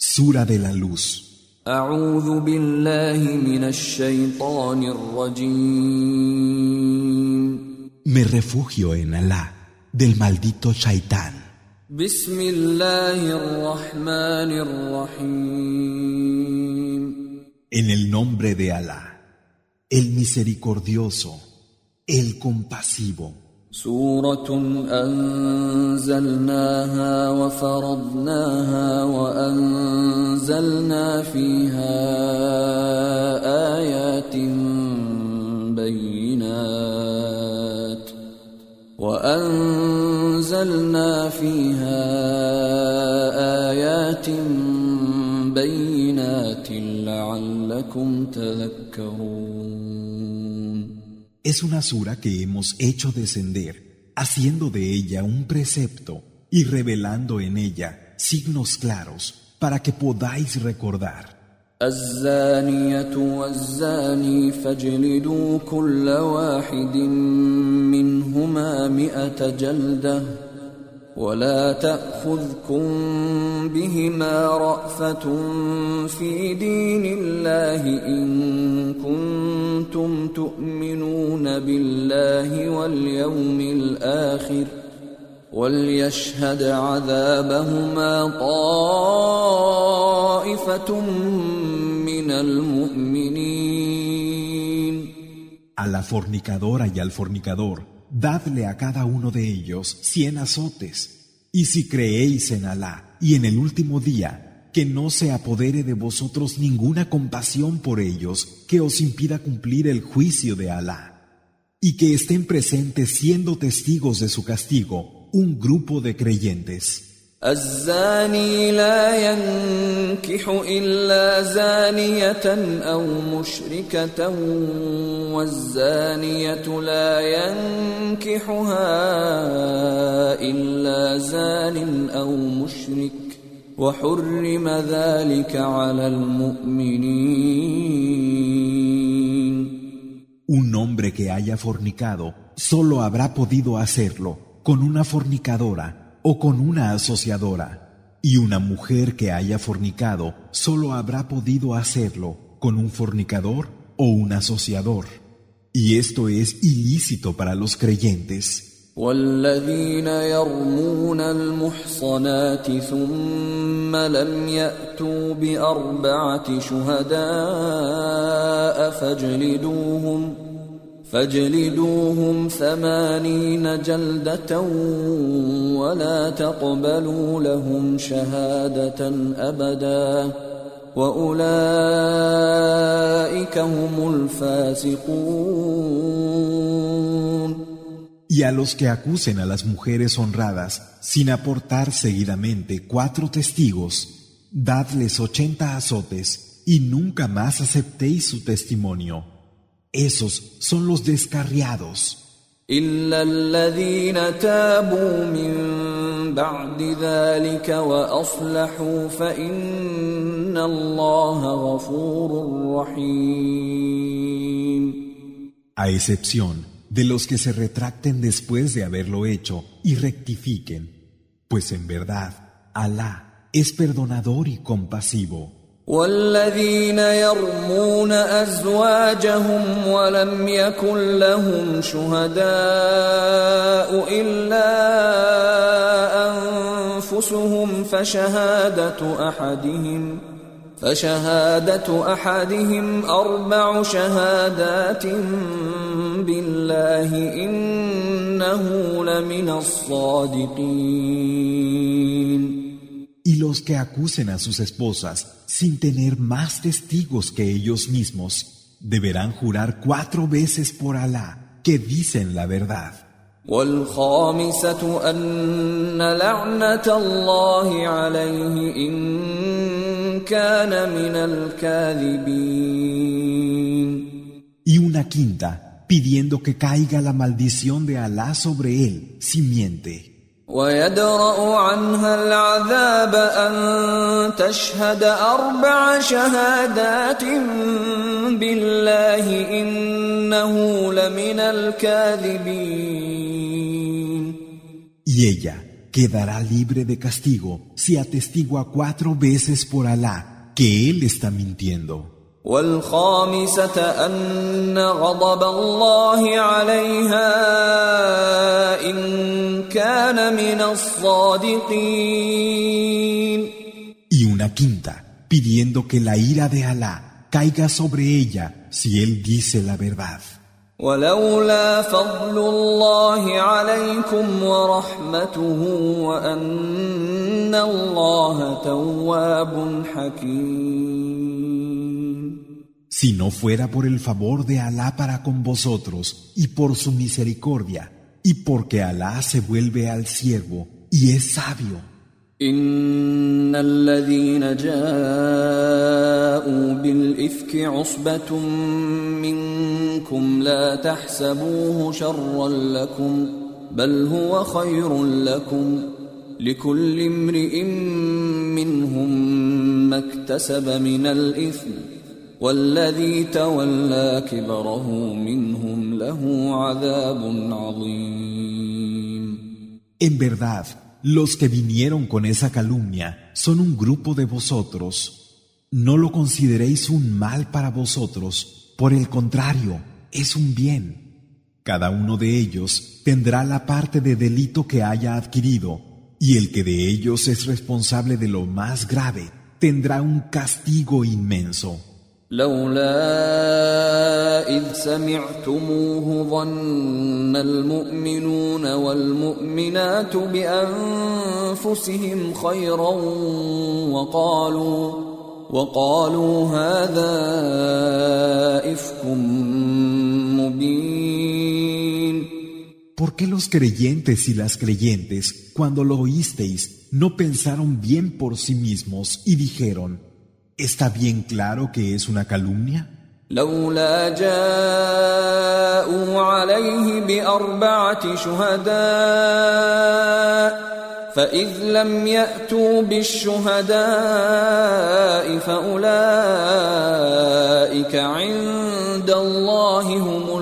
Sura de la Luz. أعوذ بالله من الشيطان الرجيم. Me refugio en Alá, del maldito Shaitán. بسم الله الرحمن الرحيم. En el nombre de Alá, el misericordioso, el compasivo. سورة أنزلناها وفرضناها وأنزلنا فيها آيات بينات لعلكم تذكرون. Es una sura que hemos hecho descender, haciendo de ella un precepto y revelando en ella signos claros para que podáis recordar. الزانية والزاني فاجلدوا كل واحد منهما 100 جلدة ولا تأخذكم بهما رأفة في دين الله إن كنتم تؤمنون بالله واليوم الآخر وليشهد عذابهما طائفة من المؤمنين. A la fornicadora y al fornicador, dadle a cada uno de ellos 100 azotes. Y si creéis en Alá y en el último día, que no se apodere de vosotros ninguna compasión por ellos que os impida cumplir el juicio de Alá. Y que estén presentes siendo testigos de su castigo un grupo de creyentes. الزاني لا ينكح إلا زانية أو مشركة والزانية لا ينكحها إلا زان أو مشرك وحرم ذلك على المؤمنين. Un hombre que haya fornicado solo habrá podido hacerlo con una fornicadora o con una asociadora, y una mujer que haya fornicado solo habrá podido hacerlo con un fornicador o un asociador, y esto es ilícito para los creyentes. والذين يرمون المحصنات ثم لم يأتوا ب4 شهداء فاجلدوهم 80 جلدة ولا تقبلوا لهم شهادة أبدا وأولئك هم الفاسقون. Y a los que acusen a las mujeres honradas sin aportar seguidamente 4 testigos, dadles 80 azotes y nunca más aceptéis su testimonio. Esos son los descarriados. إلا الذين تابوا من بعد ذلك وأصلحوا فإن الله غفور رحيم. A excepción de los que se retracten después de haberlo hecho y rectifiquen, pues en verdad Alá es perdonador y compasivo. والذين يرمون أزواجهم ولم يكن لهم شهداء إلا أنفسهم فشهادة أحدهم 4 شهادات بالله إنه لمن الصادقين. Y los que acusen a sus esposas sin tener más testigos que ellos mismos, deberán jurar 4 veces por Alá que dicen la verdad. والخامسة أن لعنة الله عليه إن كان من الكاذبين. Y una quinta, pidiendo que caiga la maldición de Alá sobre él si miente. ويدرأ عنها العذاب أن تشهد 4 شهادات بالله إنه لمن الكاذبين. Y ella quedará libre de castigo si atestigua 4 veces por Alá que él está mintiendo. والخامسة أن غضب الله عليها إن كان من الصادقين. Y una quinta, pidiendo que la ira de Alá caiga sobre ella si él dice la verdad. ولولا فضل الله عليكم ورحمته وأن الله تواب حكيم. Si no fuera por el favor de Alá para con vosotros y por su misericordia, y porque Alá se vuelve al siervo y es sabio. إن الذين جاءوا بالإفك عصبة منكم لا تحسبوه شرا لكم بل هو خير لكم لكل امرئ منهم ما اكتسب من الإثم والذي تولى كبره منهم له عذاب عظيم. En verdad, los que vinieron con esa calumnia son un grupo de vosotros. No lo consideréis un mal para vosotros, por el contrario, es un bien. Cada uno de ellos tendrá la parte de delito que haya adquirido, y el que de ellos es responsable de lo más grave tendrá un castigo inmenso. لولا إذ سمعتموه ظن المؤمنون والمؤمنات بأنفسهم خيرا وقالوا هذا إفك مبين. ¿Por qué los creyentes y las creyentes, cuando lo oísteis, no pensaron bien por sí mismos y dijeron: ¿está bien claro que es una calumnia? لولا جاءوا عليه بأربعة شهداء فإذ لم يأتوا بالشهداء فأولئك عند الله هم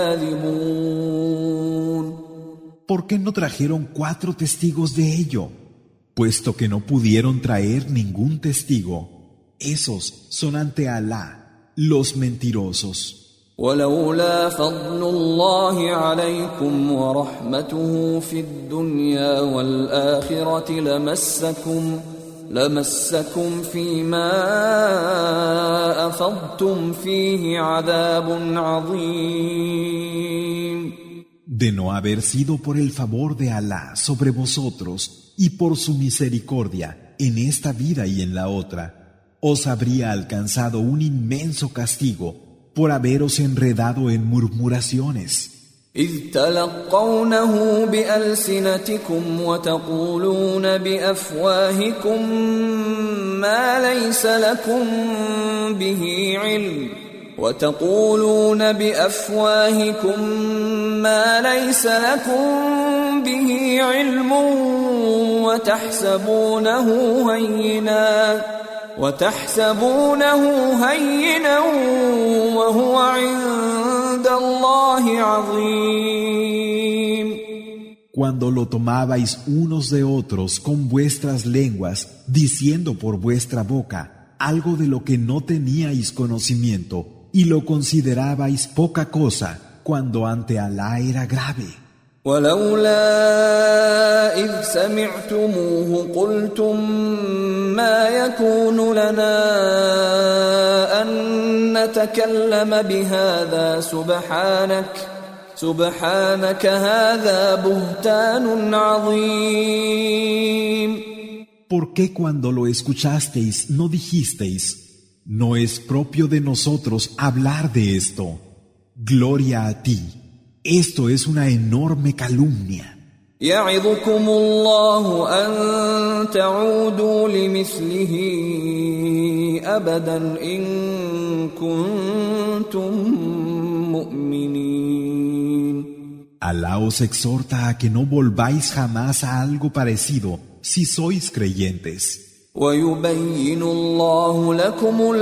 الكاذبون. ¿Por qué no trajeron 4 testigos de ello? Puesto que no pudieron traer ningún testigo, esos son ante Alá los mentirosos. ولولا فضل الله عليكم ورحمته في الدنيا والآخرة لمسكم فيما أفضتم فيه عذاب عظيم. De no haber sido por el favor de Alá sobre vosotros y por su misericordia en esta vida y en la otra, os habría alcanzado un inmenso castigo por haberos enredado en murmuraciones. إذ تلقونه بألسنتكم وتقولون بأفواهكم ما ليس لكم به علم وتحسبونه هينا وهو عند الله عظيم. Cuando lo tomabais unos de otros con vuestras lenguas, diciendo por vuestra boca algo de lo que no teníais conocimiento, y lo considerabais poca cosa, cuando ante Alá era grave. ولولا إذ سمعتموه قلتم ما يكون لنا أن نتكلم بهذا سبحانك هذا بهتان عظيم. ¿Por qué cuando lo escuchasteis no dijisteis: no es propio de nosotros hablar de esto? Gloria a ti. Esto es una enorme calumnia. يعظكم الله أن تعودوا لمثله أبدا إن كنتم مؤمنين. Alá os exhorta a que no volváis jamás a algo parecido si sois creyentes. ويبين الله لكم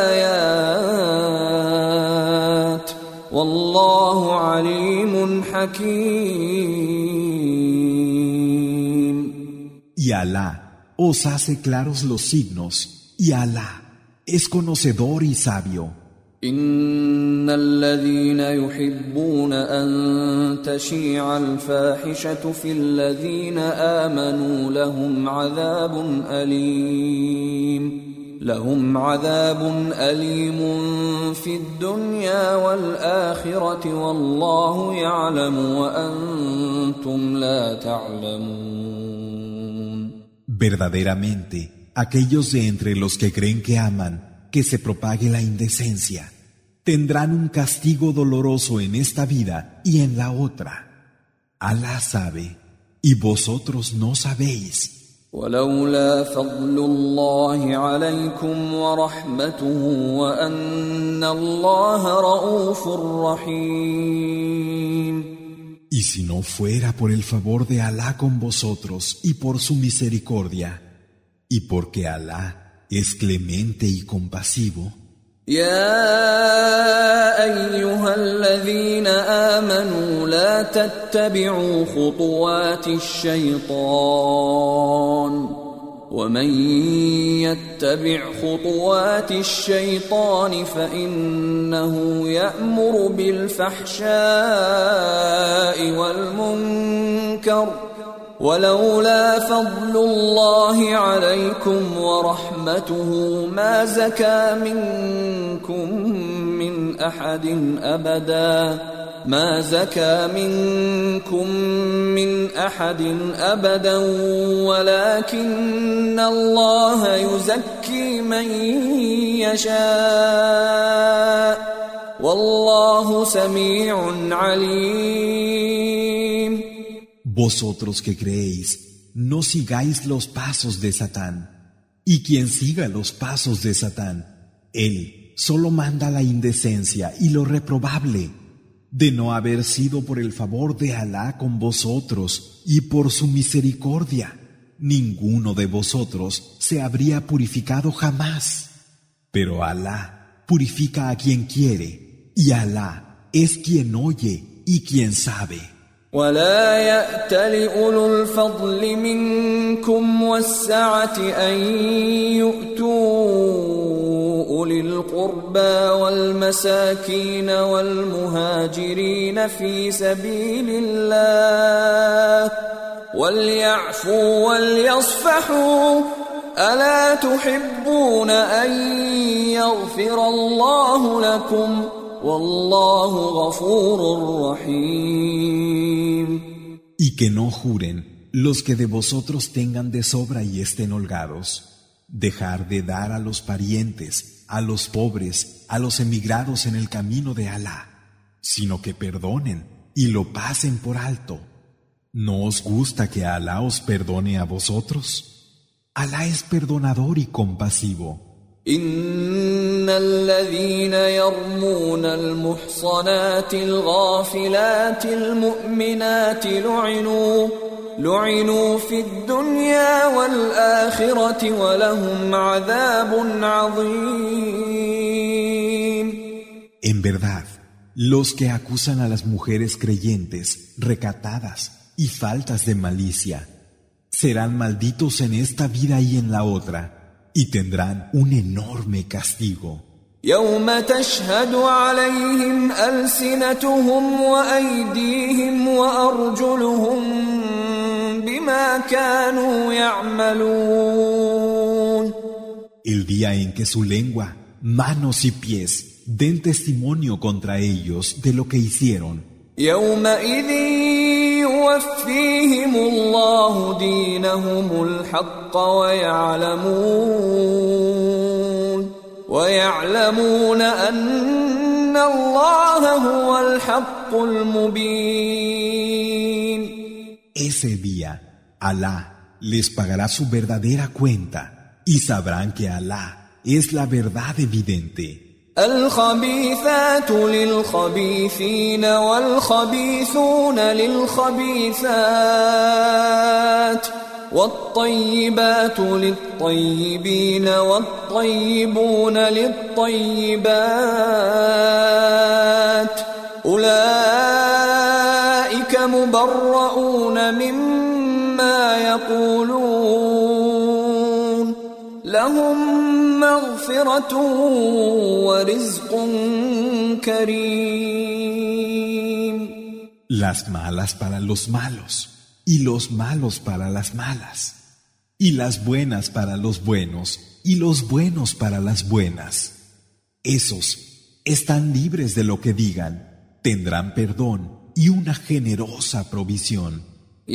الآيات والله عليم حكيم. Alá os hace claros los signos, y Alá es conocedor y sabio. إن الذين يحبون أن تشيع الفاحشة في الذين آمنوا لهم عذاب أليم في الدنيا والآخرة والله يعلم وأنتم لا تعلمون. Verdaderamente, aquellos de entre los que creen que aman que se propague la indecencia tendrán un castigo doloroso en esta vida y en la otra. Alá sabe, y vosotros no sabéis. ولولا فضل الله عليكم ورحمته وأن الله رؤوف رحيم. Y si no fuera por el favor de Alá con vosotros y por su misericordia, y porque Alá es clemente y compasivo, يا أيها الذين آمنوا لا تتبعوا خطوات الشيطان ومن يتبع خطوات الشيطان فإنه يأمر بالفحشاء والمنكر ولولا فضل الله عليكم ورحمته ما زكى منكم من أحد أبدا ولكن الله يزكي من يشاء والله سميع عليم. Vosotros que creéis, no sigáis los pasos de Satán, y quien siga los pasos de Satán, él solo manda la indecencia y lo reprobable. De no haber sido por el favor de Alá con vosotros y por su misericordia, ninguno de vosotros se habría purificado jamás. Pero Alá purifica a quien quiere, y Alá es quien oye y quien sabe. ولا يأتل أولو الفضل منكم والسعة أن يؤتوا أولي القربى والمساكين والمهاجرين في سبيل الله وليعفوا وليصفحوا ألا تحبون أن يغفر الله لكم والله غفور رحيم. Y que no juren los que de vosotros tengan de sobra y estén holgados. Dejar de dar a los parientes, a los pobres, a los emigrados en el camino de Alá, sino que perdonen y lo pasen por alto. ¿No os gusta que Alá os perdone a vosotros? Alá es perdonador y compasivo. إن الذين يرمون المحصنات الغافلات المؤمنات لعنوا في الدنيا والآخرة ولهم عذاب عظيم. En verdad, los que acusan a las mujeres creyentes, recatadas y faltas de malicia, serán malditos en esta vida y en la otra, y tendrán un enorme castigo. يوم تشهد عليهم ألسنتهم وأيديهم وأرجلهم بما كانوا يعملون. El día en que su lengua, manos y pies den testimonio contra ellos de lo que hicieron. يومئذ يوفيهم الله دينهم الحق ويعلمون أن الله هو الحق المبين. Ese día, Alá les pagará su verdadera cuenta y sabrán que Alá es la verdad evidente. الخبيثات للخبيثين والخبيثون للخبيثات والطيبات للطيبين والطيبون للطيبات أولئك مبرؤون مما يقولون مغفرة ورزق كريم. Las malas para los malos, y los malos para las malas, y las buenas para los buenos, y los buenos para las buenas. Esos están libres de lo que digan, tendrán perdón y una generosa provisión.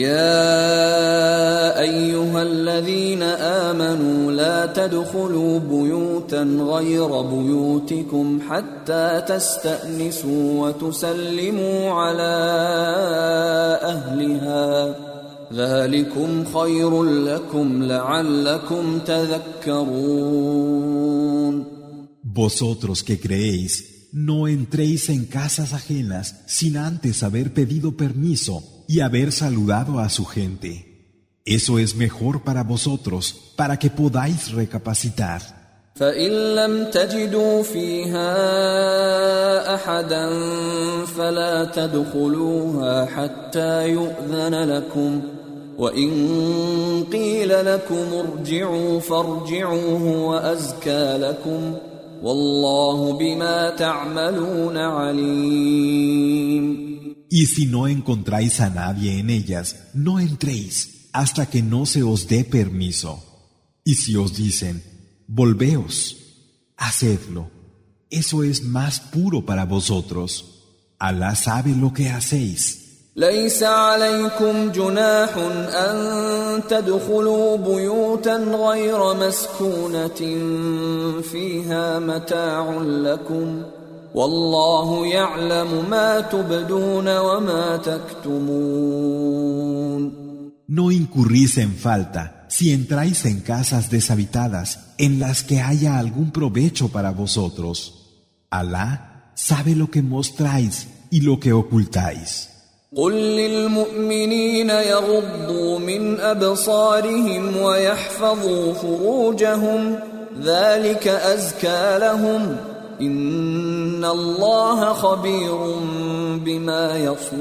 يا أيها الذين آمنوا لا تدخلوا بيوتا غير بيوتكم حتى تستأنسوا وتسلموا على أهلها ذلكم خير لكم لعلكم تذكرون. Vosotros que creéis, no entréis en casas ajenas sin antes haber pedido permiso y haber saludado a su gente. Eso es mejor para vosotros, para que podáis recapacitar. فإن لم تجدوا فيها أحدا فلا تدخلوها حتى يؤذن لكم وإن قيل لكم ارجعوا فارجعوا هو أزكى لكم والله بما تعملون عليم. Y si no encontráis a nadie en ellas, no entréis hasta que no se os dé permiso. Y si os dicen, volveos, hacedlo. Eso es más puro para vosotros. Alá sabe lo que hacéis. ليس عليكم جناح أن تدخلوا بيوتا غير مسكونة فيها متاع لكم والله يعلم ما تبدون وما تكتمون. No incurrís en falta si entráis en casas deshabitadas en las que haya algún provecho para vosotros. Alá sabe lo que mostráis y lo que ocultáis. قل للمؤمنين يغضوا من أبصارهم ويحفظوا فروجهم ذلك أزكى لهم إن الله خبير بما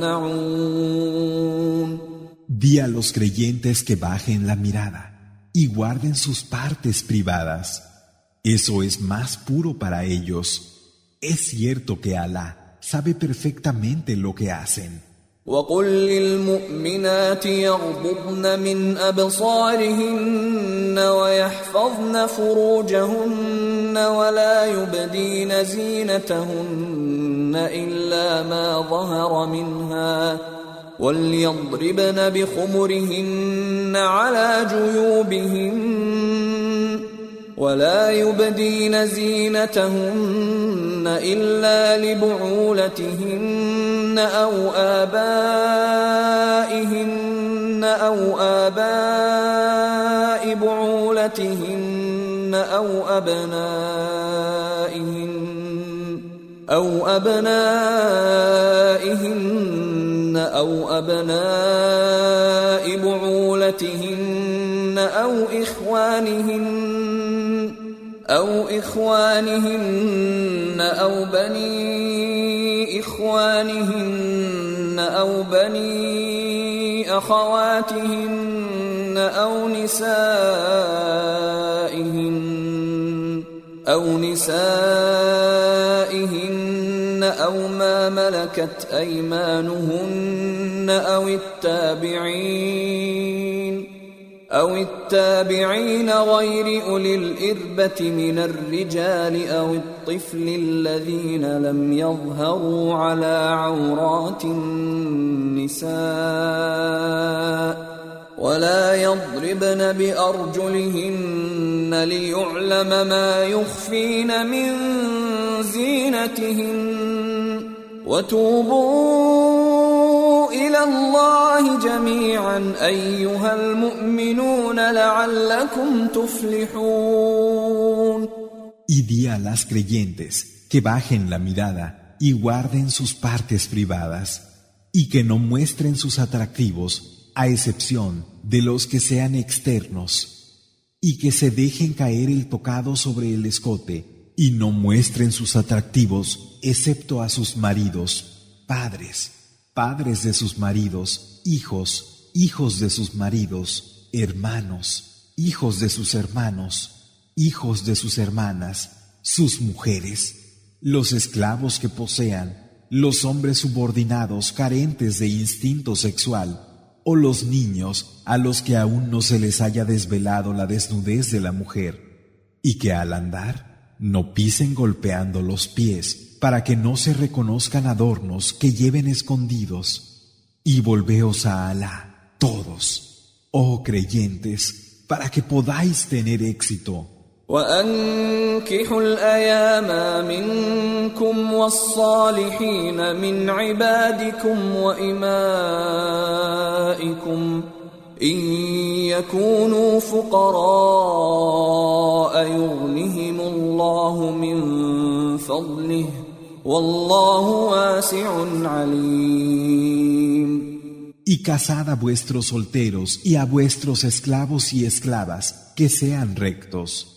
يصنعون. Di a los creyentes que bajen la mirada y guarden sus partes privadas. Eso es más puro para ellos. Es cierto que Alá sabe perfectamente lo que hacen. وقل للمؤمنات يغضضن من أبصارهن ويحفظن فروجهن ولا يبدين زينتهن إلا ما ظهر منها وليضربن بخمرهن على جيوبهن ولا يبدين زينتهن إلا لبعولتهن أو آبائهن أو آباء بعولتهن أو أبنائهن أو أبناء بعولتهن أو إخوانهن أو بني إخوانهن أو بني أخواتهن أو نسائهن أو ما ملكت أيمانهن أو التابعين غير أولي الإربة من الرجال أو الطفل الذين لم يظهروا على عورات النساء ولا يضربن بأرجلهن ليعلم ما يخفين من زينتهن وتوبوا إلى الله جميعا أيها المؤمنون لعلكم تفلحون. Y di a las creyentes que bajen la mirada y guarden sus partes privadas y que no muestren sus atractivos a excepción de los que sean externos y que se dejen caer el tocado sobre el escote y no muestren sus atractivos excepto a sus maridos, padres, padres de sus maridos, hijos, hijos de sus maridos, hermanos, hijos de sus hermanos, hijos de sus hermanas, sus mujeres, los esclavos que posean, los hombres subordinados carentes de instinto sexual, o los niños a los que aún no se les haya desvelado la desnudez de la mujer, y que al andar no pisen golpeando los pies para que no se reconozcan adornos que lleven escondidos. Y volveos a Alá, todos, oh creyentes, para que podáis tener éxito. وأنكحوا الأيام منكم والصالحين من عبادكم وإمائكم إن يكونوا فقراء يغنهم الله من فضله والله واسع عليم. Y casad a vuestros solteros y a vuestros esclavos y esclavas que sean rectos.